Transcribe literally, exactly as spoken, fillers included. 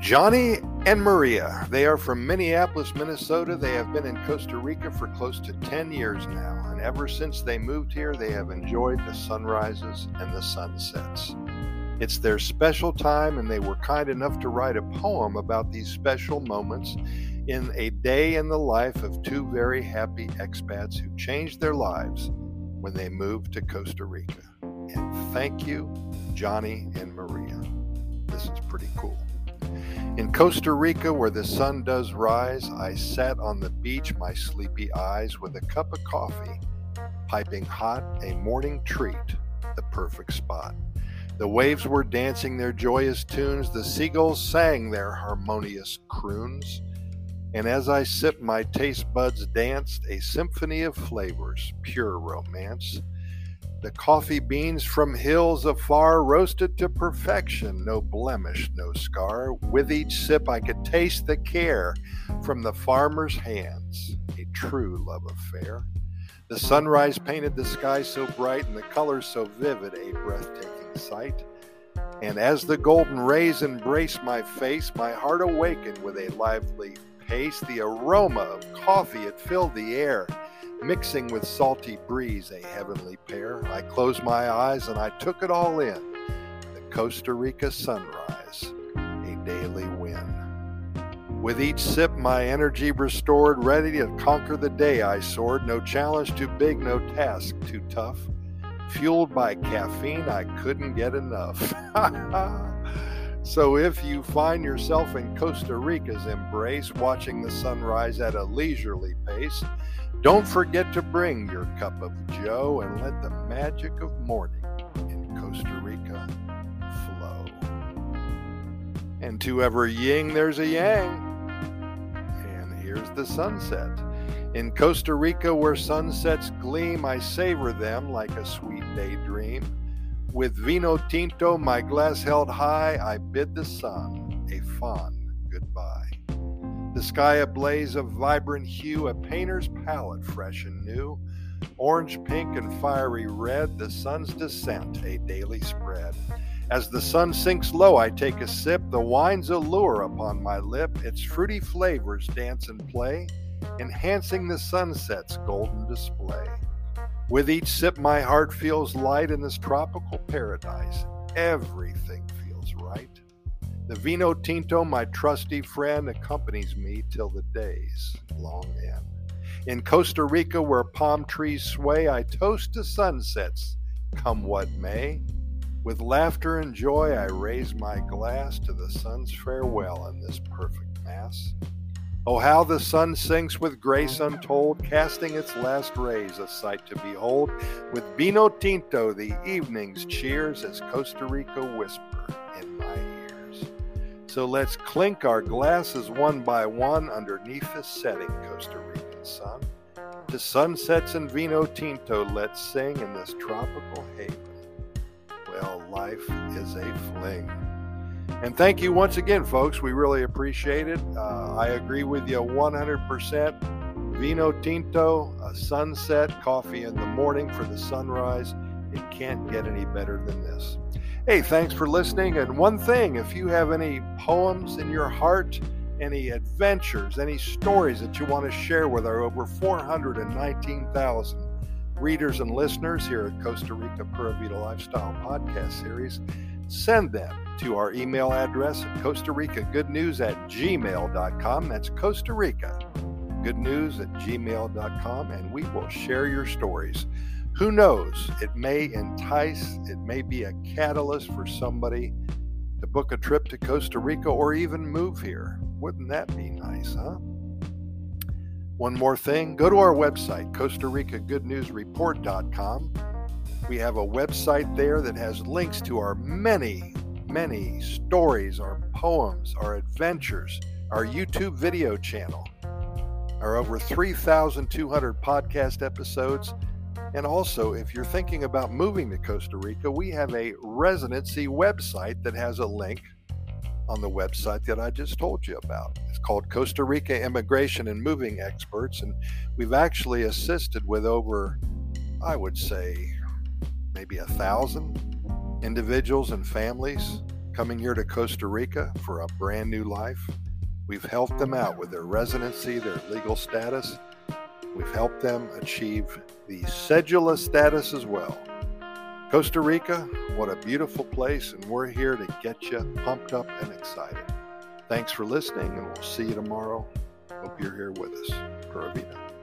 Johnny and Maria. They are from Minneapolis, Minnesota. They have been in Costa Rica for close to ten years now, and ever since they moved here, they have enjoyed the sunrises and the sunsets. It's their special time, and they were kind enough to write a poem about these special moments in a day in the life of two very happy expats who changed their lives when they moved to Costa Rica. And thank you, Johnny and Maria. This is pretty cool. In Costa Rica, where the sun does rise, I sat on the beach, my sleepy eyes, with a cup of coffee, piping hot, a morning treat, the perfect spot. The waves were dancing their joyous tunes, the seagulls sang their harmonious croons, and as I sipped, my taste buds danced a symphony of flavors, pure romance. The coffee beans from hills afar roasted to perfection, no blemish, no scar. With each sip I could taste the care from the farmer's hands, a true love affair. The sunrise painted the sky so bright and the colors so vivid, a breathtaking sight. And as the golden rays embraced my face, my heart awakened with a lively pace. The aroma of coffee, it filled the air, mixing with salty breeze, a heavenly pair. I closed my eyes and I took it all in. The Costa Rica sunrise, a daily win. With each sip, my energy restored, ready to conquer the day I soared. No challenge too big, no task too tough. Fueled by caffeine, I couldn't get enough. So if you find yourself in Costa Rica's embrace, watching the sunrise at a leisurely pace, don't forget to bring your cup of joe and let the magic of morning in Costa Rica flow. And to every yin, there's a yang. And here's the sunset. In Costa Rica, where sunsets gleam, I savor them like a sweet daydream. With vino tinto, my glass held high, I bid the sun a fond goodbye. The sky a blaze of vibrant hue, a painter's palette fresh and new. Orange, pink, and fiery red, the sun's descent, a daily spread. As the sun sinks low, I take a sip, the wine's allure upon my lip. Its fruity flavors dance and play, enhancing the sunset's golden display. With each sip, my heart feels light in this tropical paradise. Everything feels right. The vino tinto, my trusty friend, accompanies me till the day's long end. In Costa Rica, where palm trees sway, I toast to sunsets, come what may. With laughter and joy, I raise my glass to the sun's farewell in this perfect mass. Oh, how the sun sinks with grace untold, casting its last rays, a sight to behold. With vino tinto, the evening's cheers as Costa Rica whisper in my ears. So let's clink our glasses one by one underneath the setting Costa Rican sun. To sunsets and vino tinto, let's sing in this tropical haven. Well, life is a fling. And thank you once again, folks. We really appreciate it. Uh, I agree with you one hundred percent. Vino tinto, a sunset, coffee in the morning for the sunrise. It can't get any better than this. Hey, thanks for listening. And one thing, if you have any poems in your heart, any adventures, any stories that you want to share with our over four hundred nineteen thousand readers and listeners here at Costa Rica Pura Vida Lifestyle Podcast Series, send them to our email address at Costa Rica Good News at gmail dot com. That's Costa Rica Good News at gmail dot com, and we will share your stories. Who knows? It may entice, it may be a catalyst for somebody to book a trip to Costa Rica or even move here. Wouldn't that be nice, huh? One more thing, go to our website, Costa Rica Good News Report dot com. We have a website there that has links to our many, many stories, our poems, our adventures, our YouTube video channel, our over three thousand two hundred podcast episodes. And also, if you're thinking about moving to Costa Rica, we have a residency website that has a link on the website that I just told you about. It's called Costa Rica Immigration and Moving Experts, and we've actually assisted with over, I would say, maybe a thousand individuals and families coming here to Costa Rica for a brand new life. We've helped them out with their residency, their legal status. We've helped them achieve the cedula status as well. Costa Rica, what a beautiful place, and we're here to get you pumped up and excited. Thanks for listening, and we'll see you tomorrow. Hope you're here with us. Pura Vida.